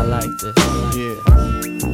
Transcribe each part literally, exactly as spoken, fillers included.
I like this. Yeah.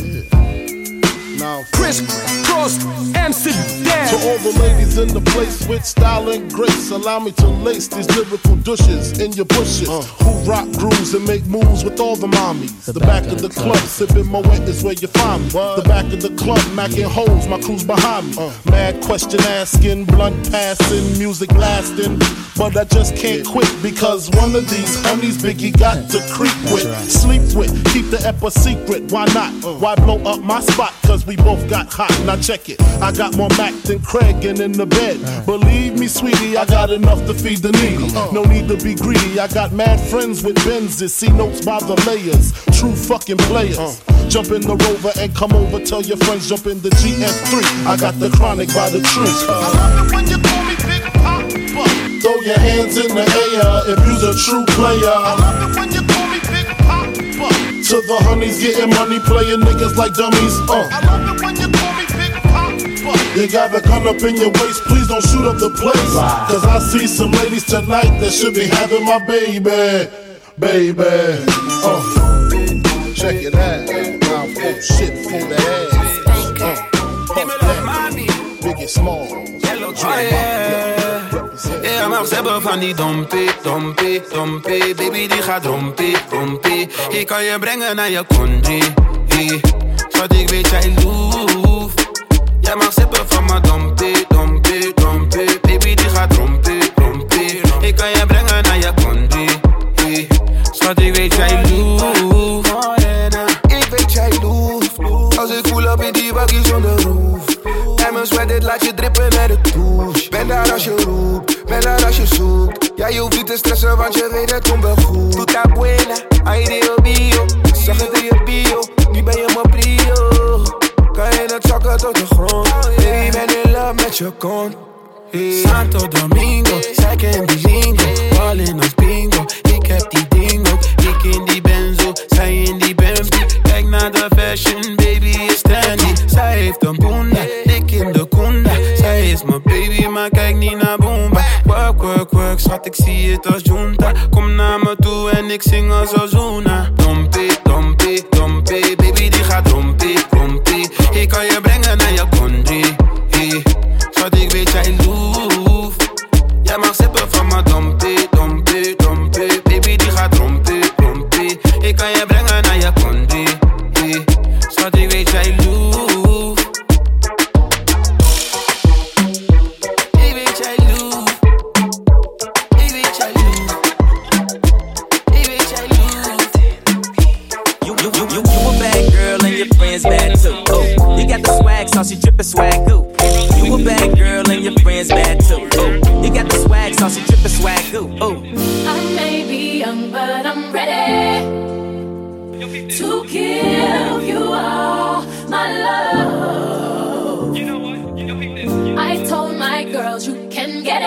Now, Chris Cross, Amsterdam. To all the ladies in the place with style and grace, allow me to lace these lyrical douches in your bushes. Uh. Who rock grooves and make moves with all the mommies. The, the back, back of the club, club sipping my wet is where you find me. What? The back of the club, macking holes, my crew's behind me. Uh. Mad question asking, blunt passing, music lasting. But I just can't quit because one of these honeys Biggie got to creep with, right. Sleep with, keep the ep a secret. Why not? Uh. Why blow up my spot? Cause we both got hot. Now check it. I got more Mac than Craig and in the bed. Right. Believe me, sweetie, I got enough to feed the needy. Uh. No need to be greedy. I got mad friends with Benzes. See notes by the layers. True fucking players. Uh. Jump in the Rover and come over. Tell your friends jump in the G S three. I got the chronic by the tree. Uh. I love it when you call me Big Papa. Throw your hands in the air if you's a true player. I love it when you call me Big Papa. To the honeys getting money, playing niggas like dummies. Uh. I love it when you call me Big Papa. You got a gun up in your waist, please don't shoot up the place. Wow. Cause I see some ladies tonight that should be having my baby, baby. Uh. Check it out. Now full shit for the ass. Uh. Puff that. Biggie Smalls. Oh, yeah. Ja, maar ze hebben van die dompie, dompie, dompie. Baby die gaat rompie, rompie. Ik kan je brengen naar je country. Hey. Schat, ik weet jij loef. Jij mag sippen van mijn dompie, dompie, dompie. Baby die gaat rompie, rompie. Ik kan je brengen naar je country. Hey. Schat, ik weet jij loef. Ik weet jij loef. Als ik voel op in die bakkie zonder roef. En mijn sweat, dit laat je drippen naar de douche. Ben daar als je roept, ben daar als je zoekt. Ja, je hoeft niet te stressen, want je weet het komt wel goed. Tuta buena, ay Dio bio. Zag het in je bio, nu ben je mijn prio. Kan je het zakken tot de grond. Baby, ben in love met je kont. Hey. Santo Domingo, zij kent die lingo. Ballin' als bingo, ik heb die ding ook. Ik in die benzo, zij in die Bentley. Kijk naar de fashion, baby is trendy. Zij heeft een boenda, dik in de kunda. Zij is mijn baby, maar kijk niet naar Boomba. Work, work, work, schat, ik zie het als junta. Kom naar me toe en ik zing als Ozuna. Dompie, dompie, dompie. Baby die gaat rompie, rompie. Ik kan je brengen naar je country. Hey. Schat, ik weet jij loef. Jij mag sippen van mijn dompie, dompie, dompie. Baby die gaat rompie, rompie. Ik kan je brengen naar je country. Hey. Schat, ik weet jij loef. Ik weet jij loef. Ik weet jij loef. Ik weet jij loef. You, you, you, you, you a bad girl and your friends bad too. Oh, you got the swag, sauce, you drippin' swag goo. You a bad girl and your friends bad too. Oh, you got the swag, sauce, you drippin' swag goo. Oh, I may be young, but I'm ready to give you all my love. You know what? You know this. I told my girls you can get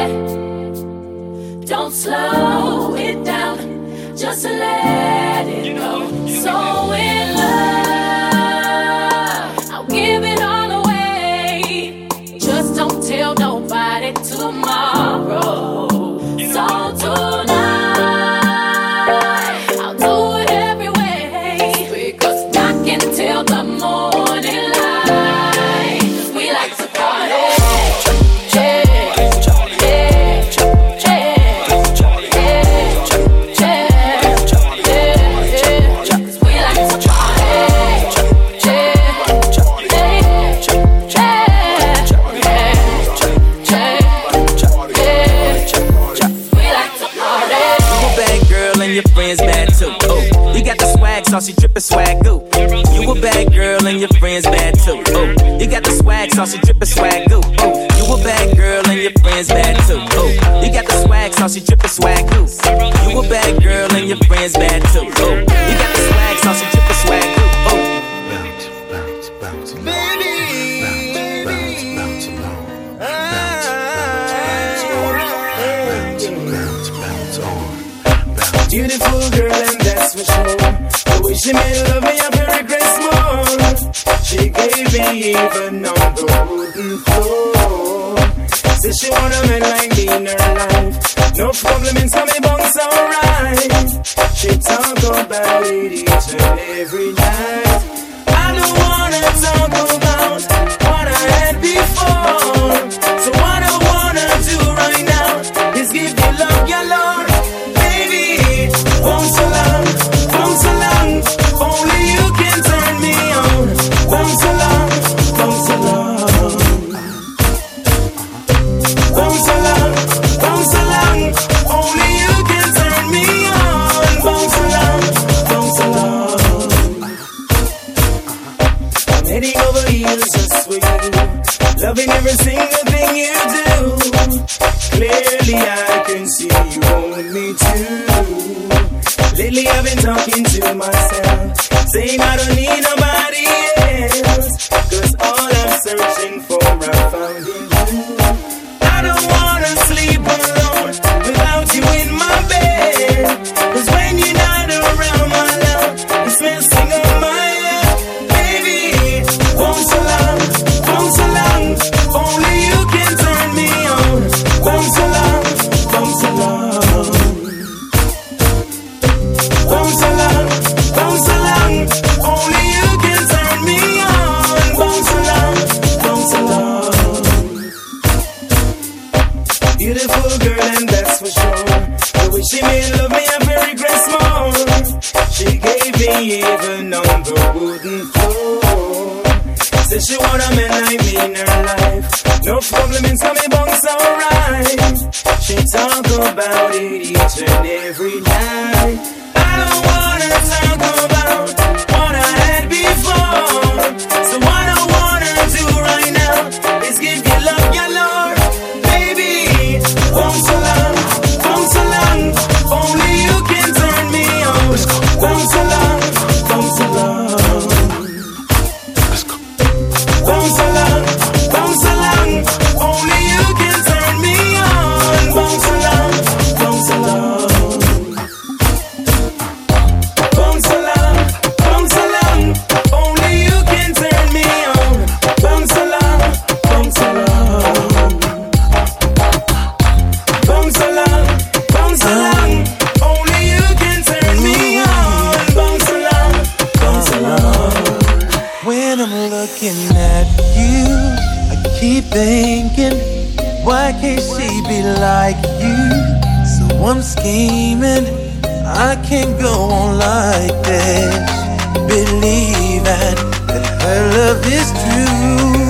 it. Don't slow it down, just let it go. So in love, I'll give it all away. Just don't tell nobody tomorrow. So tonight, I'll do it every way. Because I can tell the morning light. We like to party. Saucy drippin' swag goo. You a bad girl and your friends bad too. Oh, you got the swag, saucy drippin' swag goo. Oh, you a bad girl and your friends bad too. Oh, you got the swag, saucy drippin' swag goo. You a bad girl and your friends bad too. Oh, you got the swag, saucy drippin' swag goo. Oh, bounce, bounce, bounce, baby, bounce, bounce, bounce along, bounce, bounce, bounce, bounce on. Beautiful girl and that's for sure. The way she made love me, I feel regret small. She gave me even on the wooden floor. Said she want a man like me in her life. No problem in some bones alright. She talk about it each and every night. I don't wanna talk about what I had before. So what I wanna do right now is give you love, your Lord. Baby, won't so long, won't so long. Only you can turn me on. Won't so long, won't so long. Won't so long, won't so long. Only you can turn me on. Won't so long, won't so long. I'm heading over heels just for you. Loving every single thing you do. Clearly I can see you want me too. Lately I've been talking to myself, saying I don't need nobody else, cause all I'm searching for I found in you. I don't wanna sleep alone without you in my bed, cause when you're not around my love, it's messing up my head. Baby, won't so long, won't so long. Only you can turn me on. Won't so long, won't so long. Won't so long, won't so long. Only you can turn me on. Won't so long, won't so long. Beautiful girl, and that's for sure. The way she made love me, I very regret more. She gave me even on the wooden floor. Said she want a man like me in her life. No problem in coming bunks, alright. She talk about it each and every night. I don't wanna talk about what I had before. So what I wanna do right now is give you love, your Lord. Baby, won't so long, won't so long. Only you can turn me on. Won't so long, won't so long. Won't so long, won't so long. Only you can turn me on. Won't so long, won't so long. Won't so long, won't so long. Only you can turn me on. Won't so long, won't so long. Won't so long, won't so long. Only you can turn me on. Won't so long, won't so long. When I'm looking at you, I keep thinking, why can't she be like you? So I'm scheming, I can't go on like this, believing that her love is true.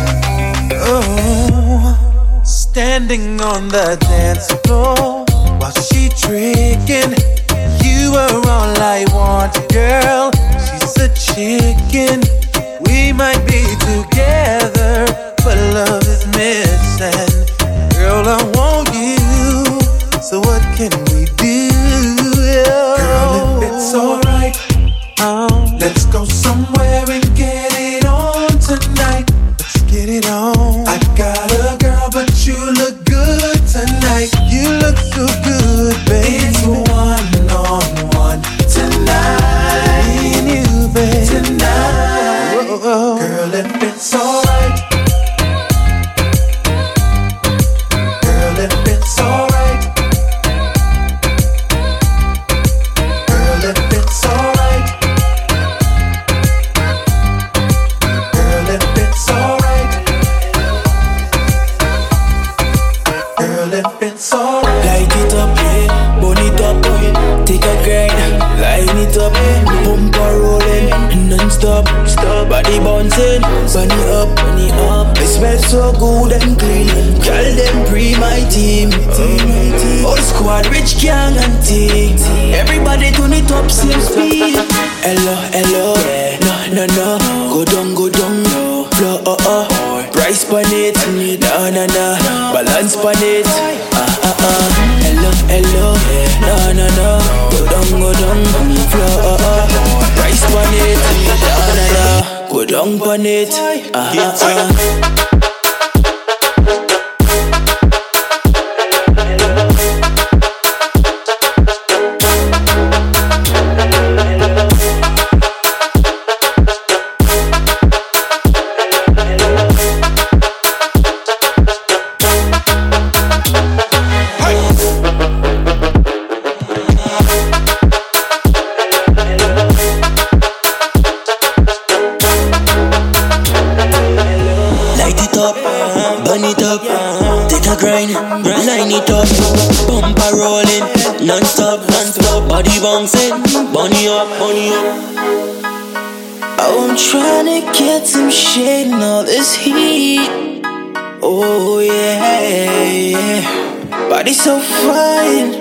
Oh, standing on the dance floor while she tricking, you are all I want, girl. She's a chicken. We might be together, but love is missing. Girl, I want you, so what can we do? Girl, if it's alright, oh, let's go somewhere and get it on tonight. Let's get it on. I got a girl, but you look good tonight. You look so good, baby. It's one on one tonight. Me and you, baby. Tonight. Whoa. Girl, if it's alright. Girl, if it's alright. Girl, if it's alright. Girl, if it's alright. Girl, if it's alright. Light it up, yeah. Burn it up, yeah. Take a grind. Line it up, yeah. Bumper rolling, non-stop. Stop. Body bouncing, bunny up, bunny up. It smells so good and clean. Girl, them pre my team. Oh. All squad, rich gang and team. Everybody turn it up, same speed. Hello, hello, yeah. No, no, no. Go down, go down, no. Flow, oh, oh. Price pan it, na, na, na. Balance pan it, ah, ah, ah. Hello, hello, yeah. No, no, no. Go down, go down, flow, oh, oh. Price pan it, na, na, na. Go down pan it, ah, ah, ah. body bouncing, bunny up, bunny up. Oh, I'm trying to get some shade in all this heat. Oh yeah, yeah. Body so fine,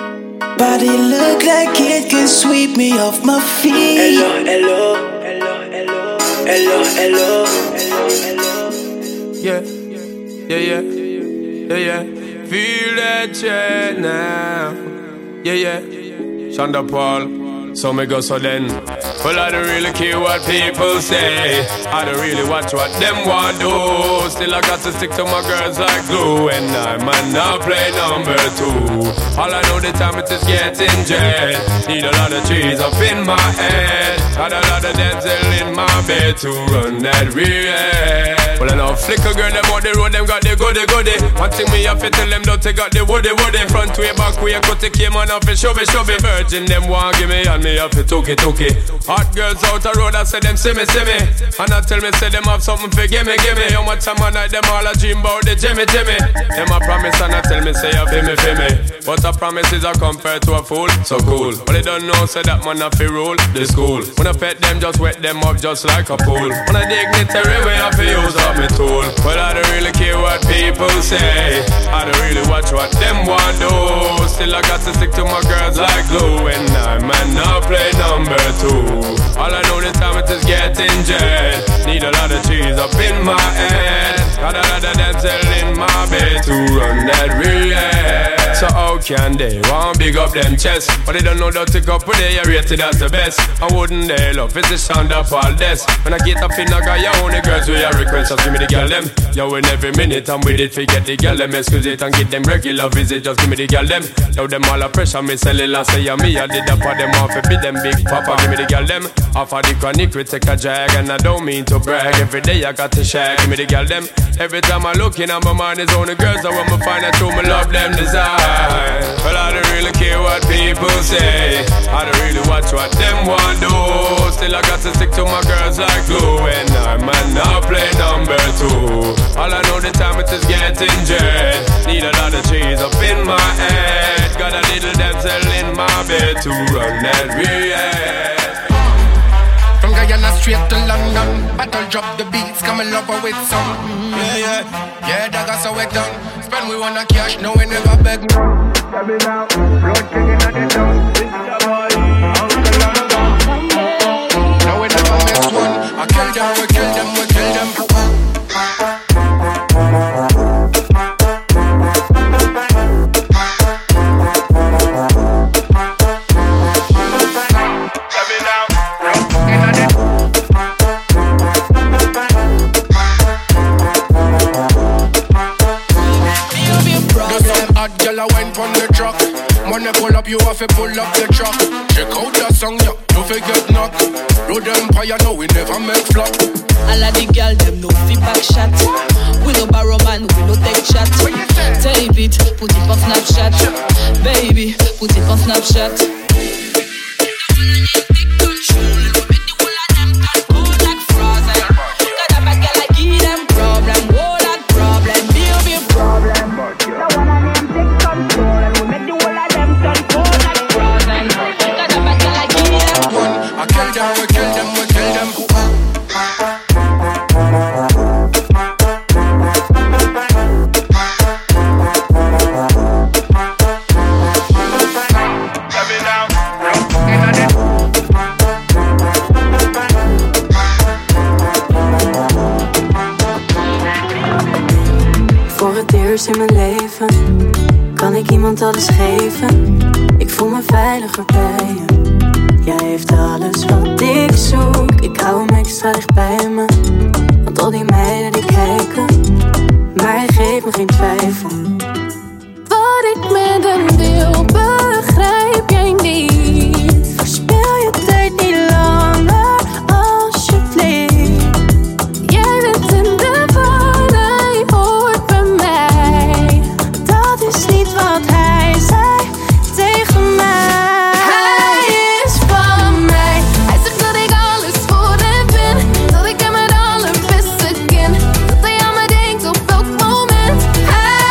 body look like it can sweep me off my feet. Hello, hello, hello, hello, hello, hello, hello. Yeah, yeah, yeah, yeah, yeah. Feel that jet now. Yeah, yeah. Shonda Paul. So me go so then. Well, I don't really care what people say. I don't really watch what them want do. Still I got to stick to my girls like glue. And I might not play number two. All I know the time it is getting jet. Need a lot of trees up in my head. Got a lot of Denzel in my bed to run that real. Well, I know flicker girl, them on the road, them got the goody goody. One thing me have to tell them, don't they got the woody woody. Front way, back way, cut the came on off and show me, show me. Virgin, them want give me and me have to took it, took it. Hot girls out the road, I say them see me, see me. And I tell me, say them have something for gimme, gimme. How much time I night, them all a dream about the Jimmy, Jimmy. Them a promise and I tell me, say you feel me, feel me. But a promise is a compared to a fool, so cool. But they don't know, say that man have to rule the school. When I pet them, just wet them up just like a pool. When I dignitary way, I feel use up me tool. But I don't really care what people say. I don't really watch what them want do. Still I got to stick to my girls like glue. And I might not play number two. All I know this time it is getting jet. Need a lot of cheese up in my head. Got a lot of Denzel in my bed to run that real. So how can they want big up them chest? But they don't know that take up with they are rated as the best. I wouldn't they love it's a sound up all this. When I get up in a guy, you only girls with your request. Just give me the girl them. Yo, in every minute I'm with it, forget the girl them. Excuse it and get them regular visit. Just give me the girl them. Now them all a pressure me cellular say yeah, me I did up for them off. Be them big papa, give me the girl them. Off of the chronic we take a drag. And I don't mean to brag. Every day I got to shag. Give me the girl them. Every time I look in my mind is only girls. I want me find out who me love them desire. Well, I don't really care what people say. I don't really watch what them want do. Still I got to stick to my girls like glue. And I might not play number two. All I know the time it is getting jet. Need a lot of cheese up in my head. Got a little Denzel in my bed to run that real. From Guyana straight to London, battle drop the beats, come and love her with some. Yeah, yeah, yeah, that got so we done. Spend we wanna cash, no we never beg. Every now, blood king in the town. This is the boy, Uncle London. No we never miss one. I kill them, we kill them, we kill them. When they pull up, you have to pull up the truck. Check out that song, yeah, don't forget knock. Road Empire, no, we never make flop. All of the girl, them no feedback shot. We no borrow man, we no take chat. Tape it, put it on Snapchat. Baby, put it on Snapchat. In mijn leven kan ik iemand alles geven. Ik voel me veiliger bij je. Jij heeft alles wat ik zoek. Ik hou hem extra dicht bij me. Want al die meiden die kijken, maar hij geeft me geen twijfel. Wat ik met hem wil, begrijp jij niet. Verspil je tijd niet langer, alsjeblieft. Jij bent in de war, hij hoort bij mij. Dat is niet wat hij zei tegen mij. Hij is van mij. Hij zegt dat ik alles voor hem ben. Dat ik hem het allerbeste ken. Dat hij aan me denkt op elk moment. Hij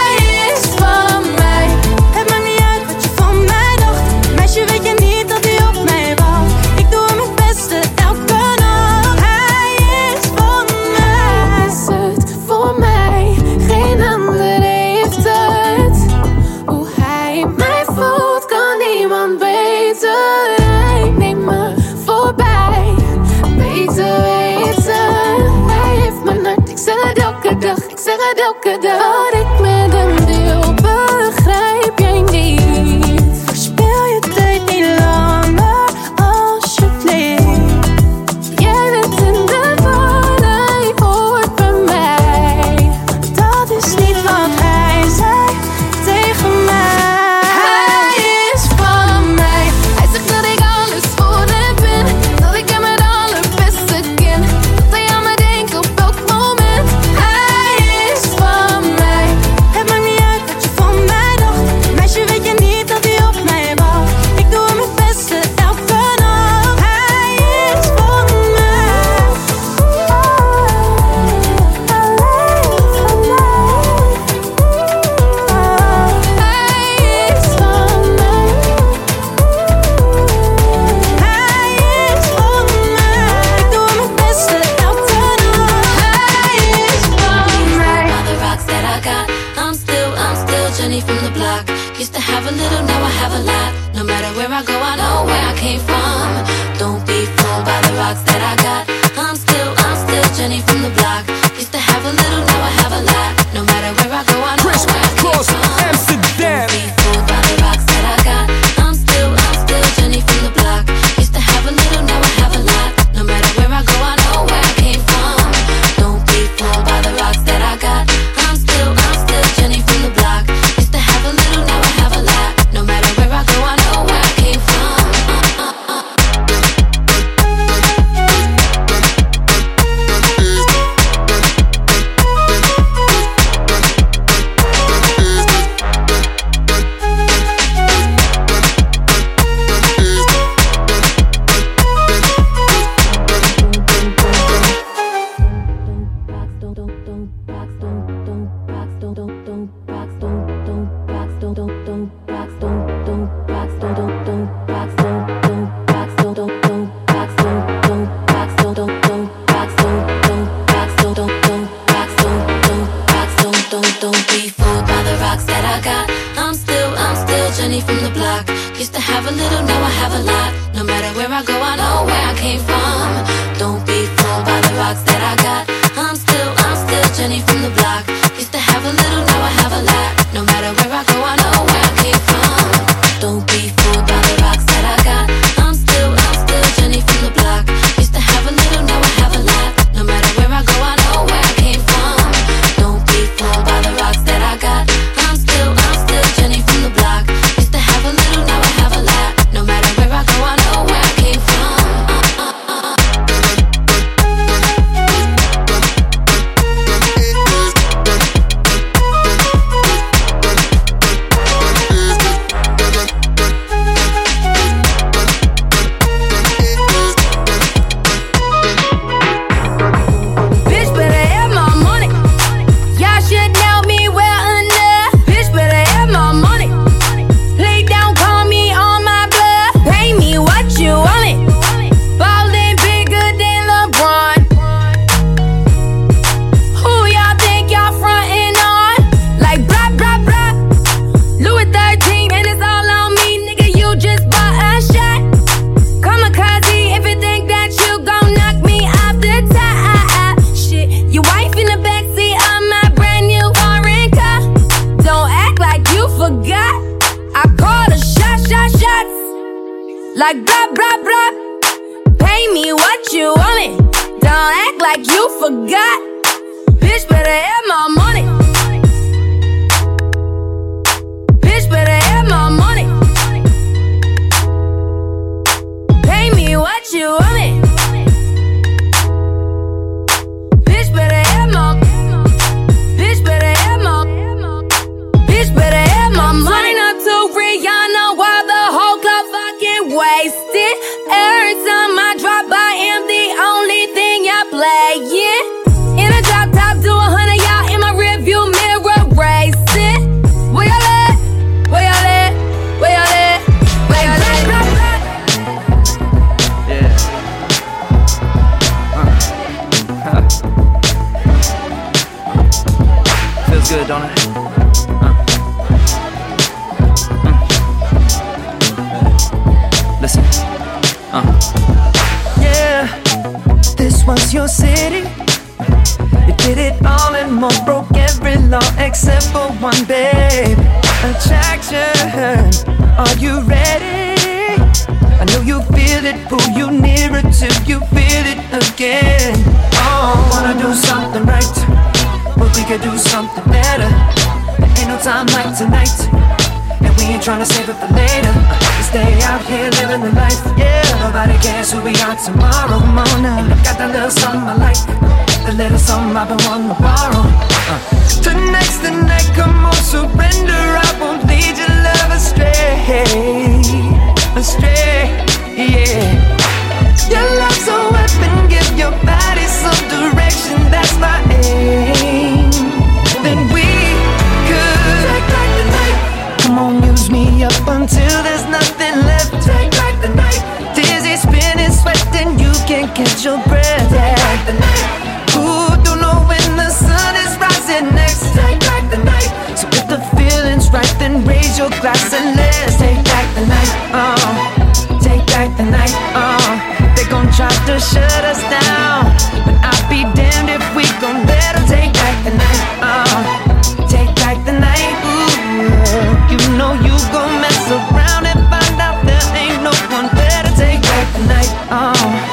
rocks that I got. I'm still, I'm still Jenny from the block. Used to have a little, now I have a lot. No matter where I go, I know where I came from. Amsterdam. Don't be fooled by the rocks that I got. I'm still, I'm still Jenny from the block. Used to have a little, now I have a lot. No matter where I go, I know where I came from. Don't be fooled by the rocks that I got. I'm still, I'm still Jenny from the block. Used to have a little, now I have a lot. No matter where I go, I know where I came from. Uh, uh, uh. Don't be fooled by the rocks that I got. I'm still, I'm still Jenny from the block. Used to have a little, now I have a lot. No matter where I go, I know where I came from. Don't be fooled by the rocks that I got. I'm still, I'm still Jenny from the block. Used to have a little, now I have a lot. No matter where I go, I know where I came from. Don't be fooled by the rocks that I got. I'm still, I'm still Jenny from the block. Used to have a little, now I have a lot. No matter where I go, I know where I came from. Don't be fooled by the rocks that I got. I'm still, I'm still Jenny from the block. Used to have a little, now I have a lot. No matter where I go, I know where I came from. Uh, uh, uh. Bitch better have my money. Y'all should know me well enough. Bitch better have my money. Lay down, call me on my bluff. Pay me what you want it. Ballin' bigger than LeBron. Who y'all think y'all frontin' on? Like blah blah blah. Louis thirteen and it's all on me, nigga. You just bought a shot. Kamikaze if you think that you gon' knock me off the top. Shit, your wife in the backseat of my brand new foreign car. Don't act like you forgot. I call a shot, shot, shots. Like blah, blah, blah. Pay me what you want it. Don't act like you forgot. Bitch better have my money. Bitch better have my money. Pay me what you want it. Bitch better have my. Bitch better have my. Bitch better have my money. Not to Rihanna while the whole club fucking wasted. Every time I drop by, am the only thing y'all playing. In a drop top, do a hundred y'all in my rearview mirror racing. Where y'all at? Where y'all at? Where y'all at? Where y'all at? Yeah. Uh. Feels good, don't it? Uh. Mm. Listen. Uh. Yeah, this was your city. You did it all and more, broke every law except for one, babe. Attraction, are you ready? I know you feel it, pull you nearer till you feel it again. Oh, wanna do something right, but we could do something better. There ain't no time like tonight, and we ain't tryna save it for later. We stay out here living the life, yeah. Nobody cares who we are tomorrow. Come on now, and I got that little something I like, the little something I've been wanting to borrow. uh. Tonight's the night, come on, surrender. I won't lead your love astray, astray, yeah. Your love's a weapon, give your body some direction. That's my aim. Then we could take back the night. Come on, use me up until there's nothing left. Take back the night. Dizzy, spinning, sweating, you can't catch your breath. Take back the night. Ooh, don't know when the sun is rising next. Take back the night. So if the feeling's right, then raise your glass and let's take back the night. Oh, take back the night. Oh, they gon' try to to shut us down. But I'll be damned if we gon' let her take back the night. Uh, take back the night. Ooh, you know you gon' mess around and find out there ain't no one better. Take back the night. Uh.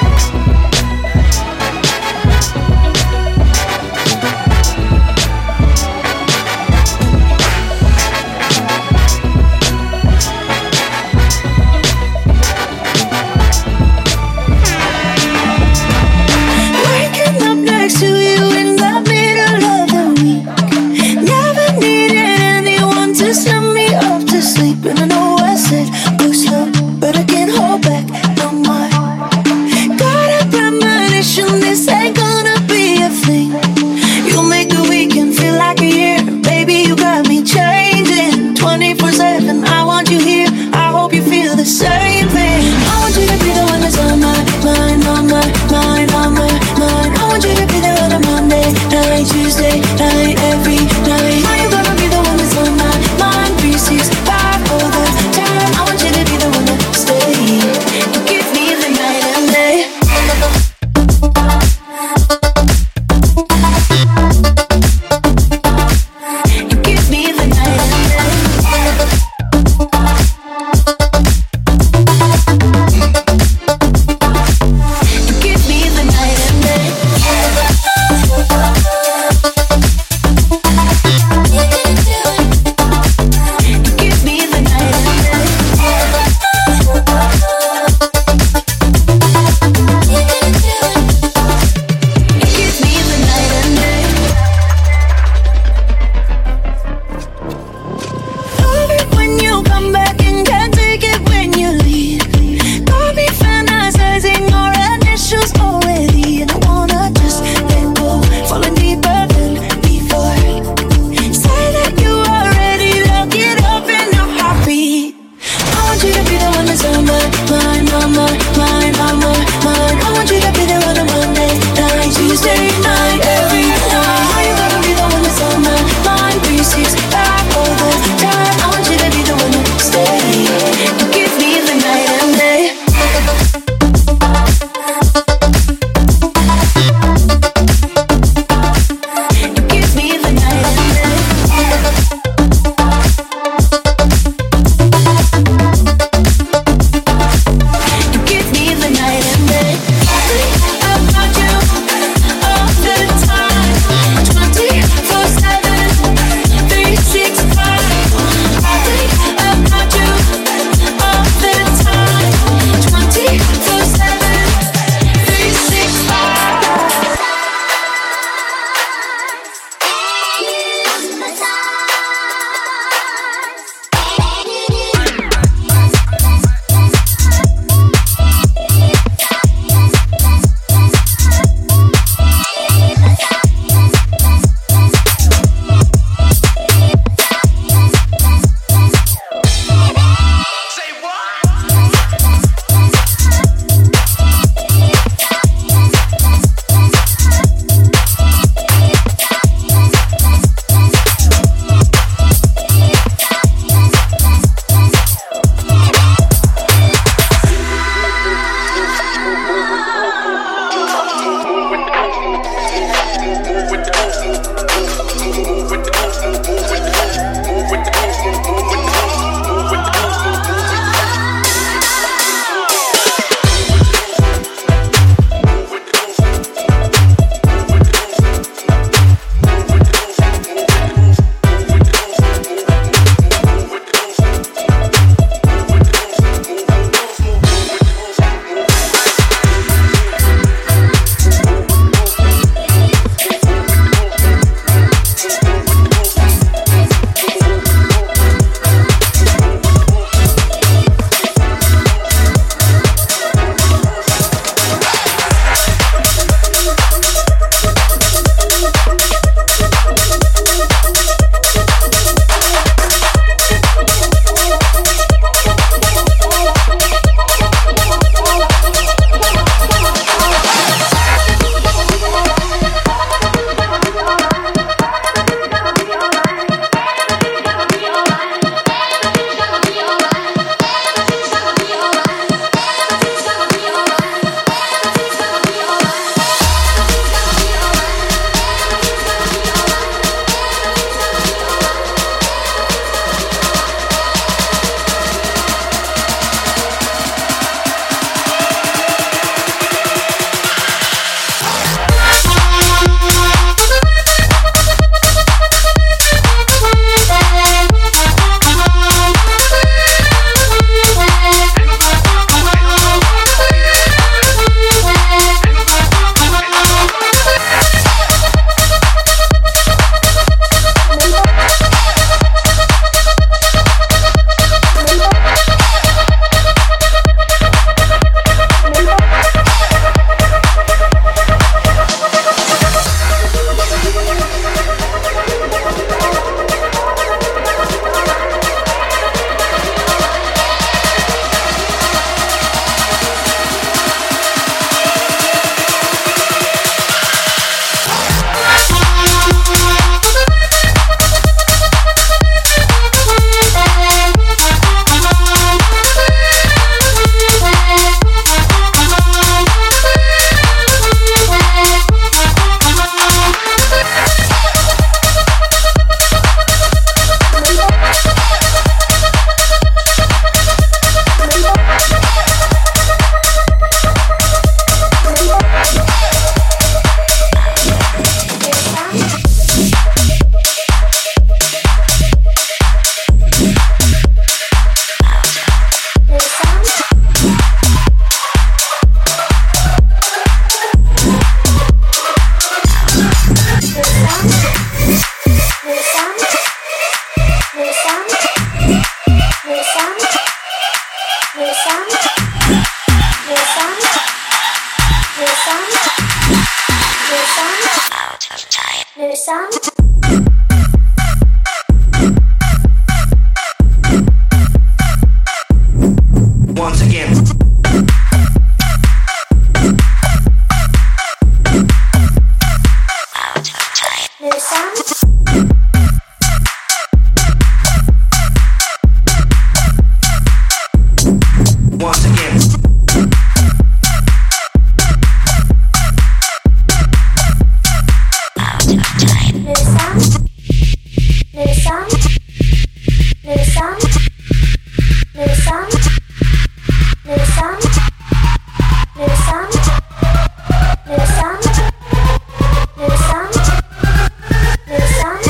But I can't hold back no more. Le sound. Once again. Le sound. Once again. Le sound. Le sound. Le sound. Le sound. Le sound. Le sound. Le sound. Le sound. Le sound.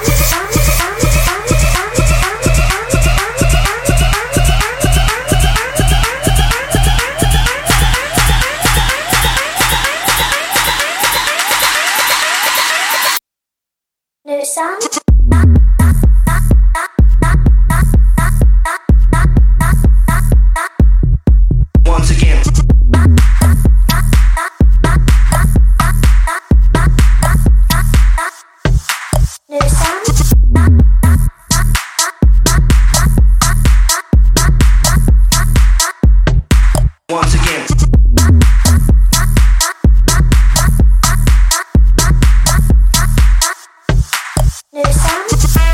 Le sound. Once again. Le sound. Once again. Le sound.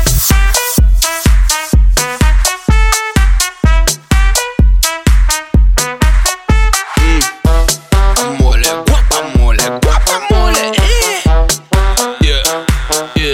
Amole, guapamole, guapamole, eh. Yeah, yeah.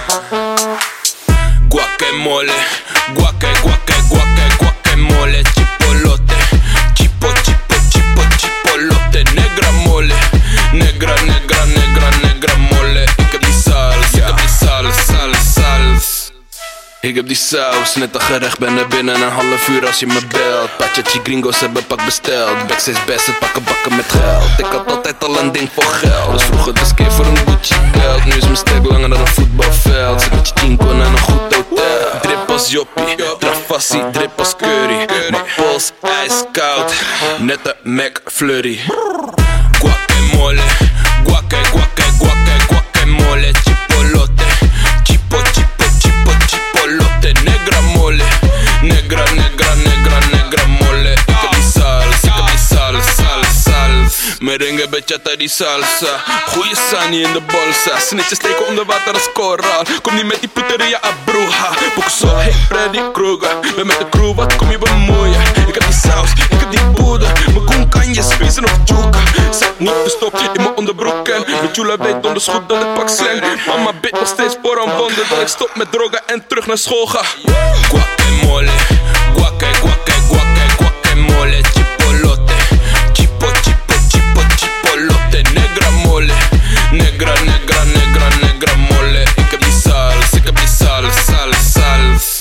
Guacamole, guaca, guaca, guaca, guacamole, chipolote, chipo, chipo, chipo, chipolote, negra mole, negra, negra, negra, negra mole. Ik heb die saus, ik heb die saus, saus, saus. Ik heb die saus, net een gerecht, ben er binnen een half uur als je me belt. Pachachi gringos hebben pak besteld, backstage best, het pakken bakken met geld. Ik had altijd al een ding voor geld, dus vroeger dus keer voor een Gucci belt. Nu is mijn stek langer dan een voetbalveld, zit met je chinko naar een goed hotel. Drip als joppie, trafassie, drip als curry. Mijn pols ijskoud, net een McFlurry. Guacamole, guaca, guaca, guaca, guacamole, chipolote, chipo, chipo, chipo, chipolote, negra mole, negra, negra, negra, negra mole. Ik heb die saus, ik heb die saus, saus, saus. Merengue, bachata, die salsa. Goeie sani in de bolsa. Snitjes steken onder water als koraal. Kom niet met die puteria a bruja. Boek zo, hey Freddy Krueger. Ben met de crew, wat kom je bemoeien? Ik heb die saus, ik heb die poeder. Mijn koen kan je spacen of juka. Zet niet de stopje in mijn onderbroek en met Jula weet donders goed dat het pak slang. Mama bid nog steeds voor een wonder dat ik stop met drogen en terug naar school ga. Guacamole, guaca, guaca, guaca, guacamole, chipolote, chipo, chipo, chipo, chipolote, negra mole, negra, negra, negra, negra mole. Ik heb die saus, ik heb die saus, saus, saus.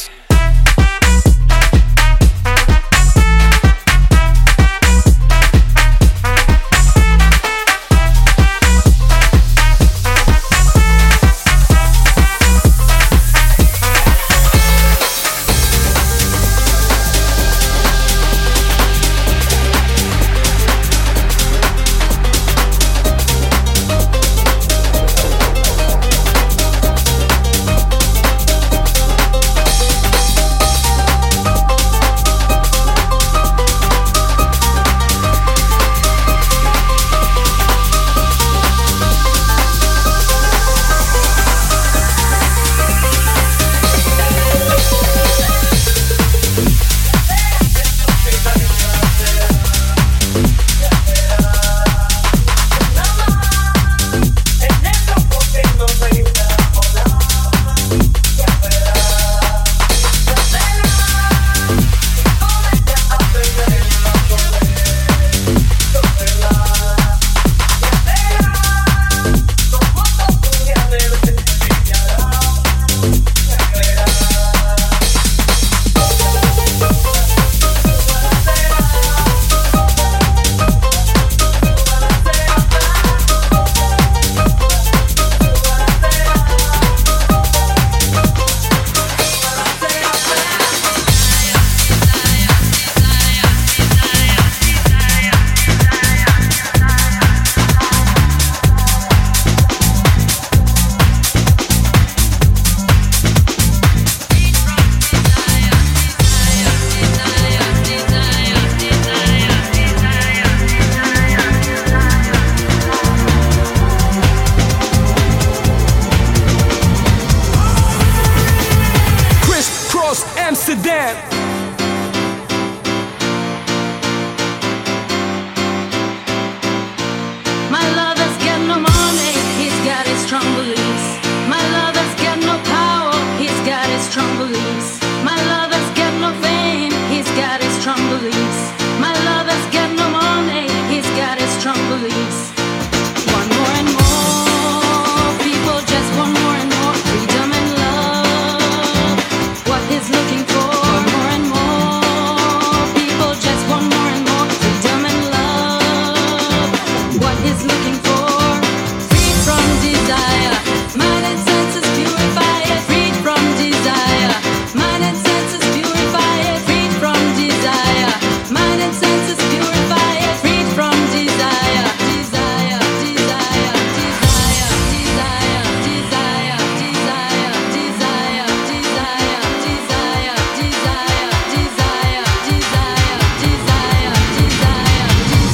release. Want more and more. People just want more and more freedom and love. What he's looking for. Want more and more. People just want more and more freedom and love. What he's looking for. Freed from desire. Mind and senses purify it. Freed from desire. Mind and senses purify it. Freed from desire. Mind and senses purify it. Freed from desire. Desire. Desire. Desire. Desire. Desire. Desire. Desire. Desire. Desire. Desire. Desire. Desire. Desire. Desire.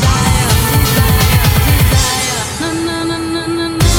Desire. Na na na na na na.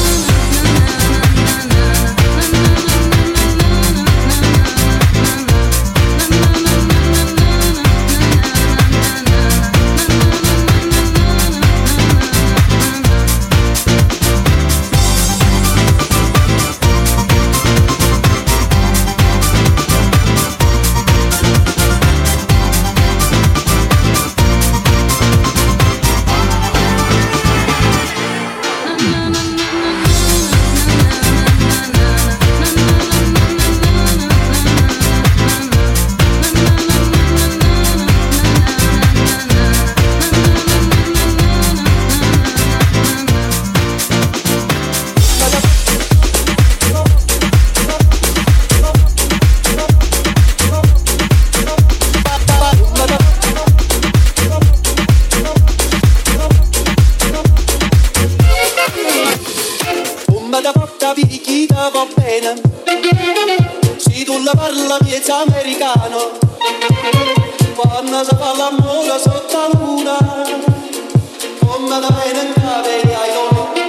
Come da porta picchita va bene. Se tu la parla piezza americano. Quando si fa l'amore sotto la luna. Come da bene in cave ai loro.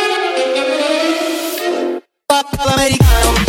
Papà l'americano.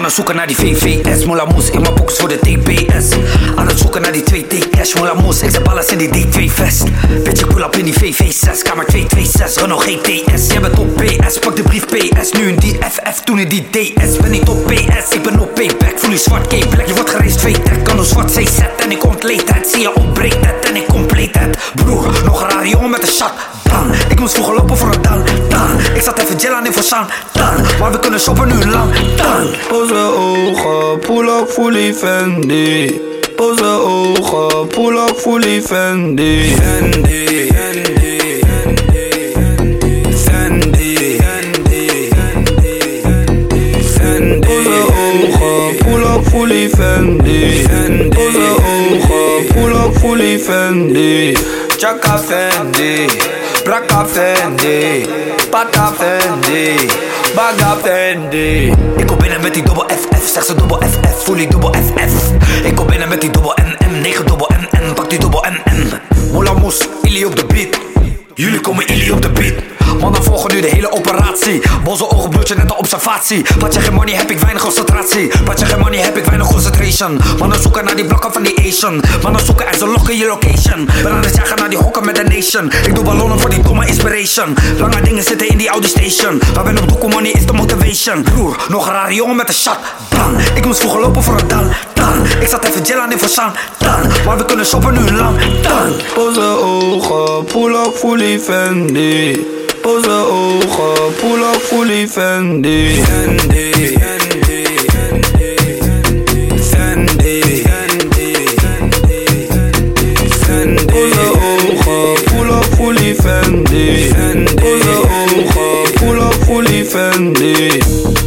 Mannen zoeken naar die V V S, Moula Moes, in mijn pockets voor de T P S. Aan het zoeken naar die twee T cash, Moula Moes, ik zet alles in die D twee vest. Bitch, ik pull up in die V V zes, kamer twee twee zes, Renault G T S. Jij bent op P S, pak de brief P S, nu in die F F, toen in die D S. Ben niet op P S, ik ben op payback, voel je zwart K-black. Je wordt gereisd V-tech, kan door zwart C Z en ik ontleed het. Zie je opbreekt het en ik compleet het. Broer, nog een rare jongen met een shot, dan. Ik moest vroeger lopen voor een dan, dan. Ik zat even gel aan in Forsaan, dan. Maar we kunnen shoppen nu lang, dan. Pose ogen, pull up fully Fendi. Pose ogen, pull up fully Fendi. Fendi, Fendi, Fendi, Fendi, Fendi. Pose ogen, pull up fully Fendi. Pose ogen, pull up fully Fendi. Chaka Fendi, Braka Fendi, Pata Fendi, Baga Fendi. Ik kom binnen met die dubbel F F, zeg ze dubbel F F, voel die dubbel F F. Ik kom binnen met die dubbel M M, negen dubbel M N, pak die dubbel M M. Moula Moes, Illy op de beat. Jullie komen Illy op de beat. Mannen volgen nu de hele operatie. Boze ogen, bloedje, net een observatie. Wat je geen money, heb ik weinig concentratie. Wat je geen money, heb ik weinig concentration. Mannen zoeken naar die blokken van die Asian. Mannen zoeken en ze lokken je location. Ben aan het jagen naar die hokken met de nation. Ik doe ballonnen voor die domme inspiration. Lange dingen zitten in die Audi station. Maar ben op doekoe, money is de motivation. Broer, nog een rare jongen met een shot, dan. Ik moest vroeger lopen voor een dan, dan. Ik zat even gel aan in Forsaan, dan. Maar we kunnen shoppen nu lang, dan. Pose ogen, pull up fully Fendi. Pose ogen, pull up fully Fendi. Fendi, Fendi, Fendi, Fendi. Pose ogen, pull up fully Fendi. Pose ogen, pull up fully Fendi.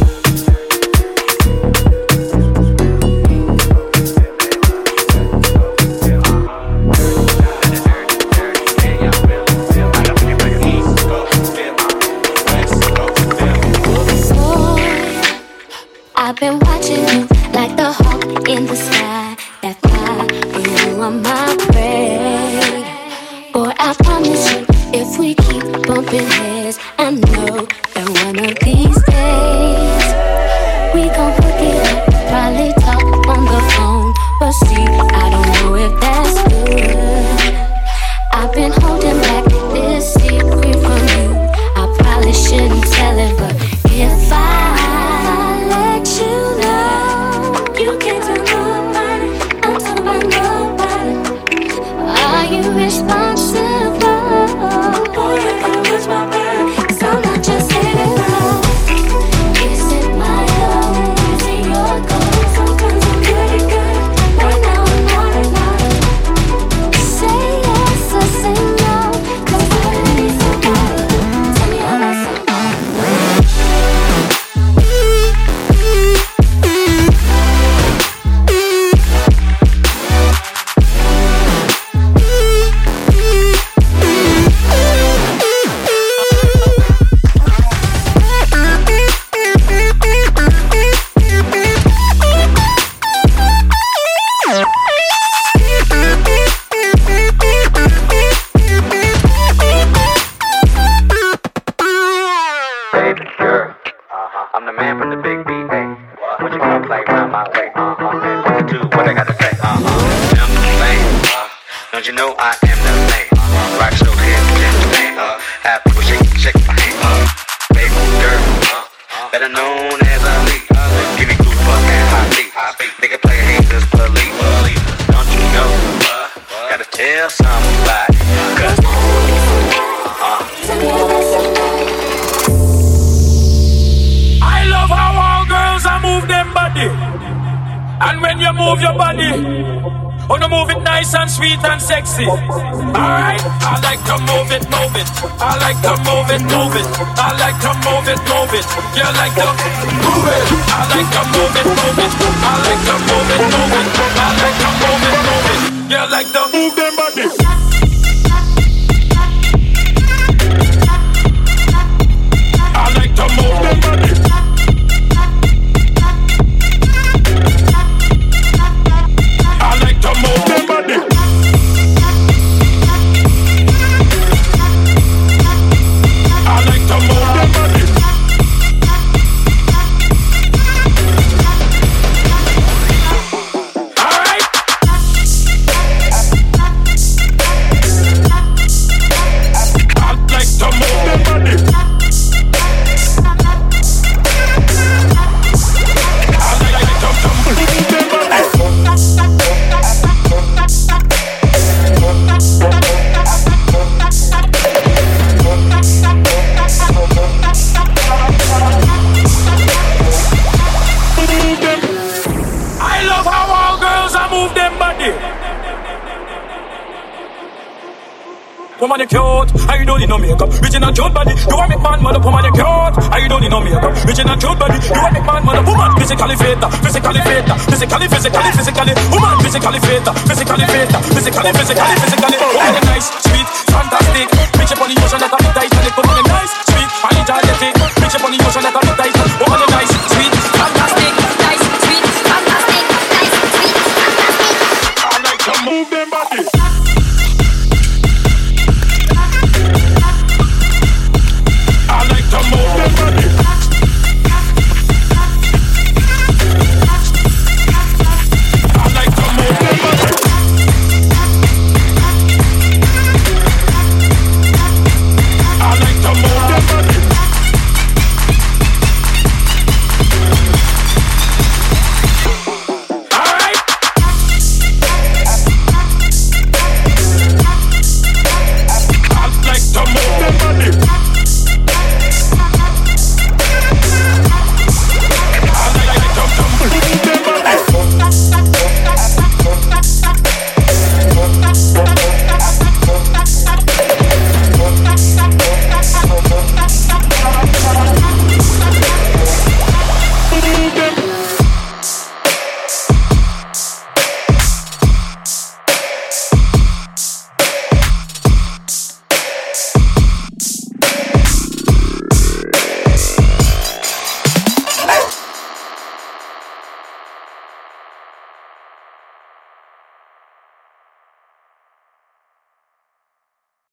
I've been watching you like the hawk in the sky. That fly, you are my prey. Boy, I promise you, if we keep bumping heads, I know that one of these days we gon' hook it up. Probably talk on the phone, but see, I don't know if that's good. I've been holding back this secret from you. I probably shouldn't tell it, but if I you know you can't tell nobody, I'm talking about nobody. Are you responsible? Boy, you gotta watch my back, 'cause I'm not just hitting low. Is it my own? Is it your goal? Sometimes I'm pretty good, right now I'm not alone. Say yes or say no, 'cause I really need somebody. Tell me how that's sweet and sexy. Alright, I like to move it, move it. I like to move it, move it. I like to move it, move it. You like to move it. I like to move it, move it. I like to move it, move it. I like to move it, move it. You like to move them body. I like to move them body. I like to move them body. woman you cute. I don't need no makeup. Rich in a cute body. You want make man mother woman you cute. I don't need no makeup. Rich in a cute body. You want make man mother woman physically fit, physically fit, physically, physically, physically. Woman physically fit, physically fit, physically, physically, physically. Woman nice, sweet, fantastic. Bitch upon the ocean that a bit tight. Woman nice, sweet, energetic. Bitch upon the ocean that a bit tight. Woman nice.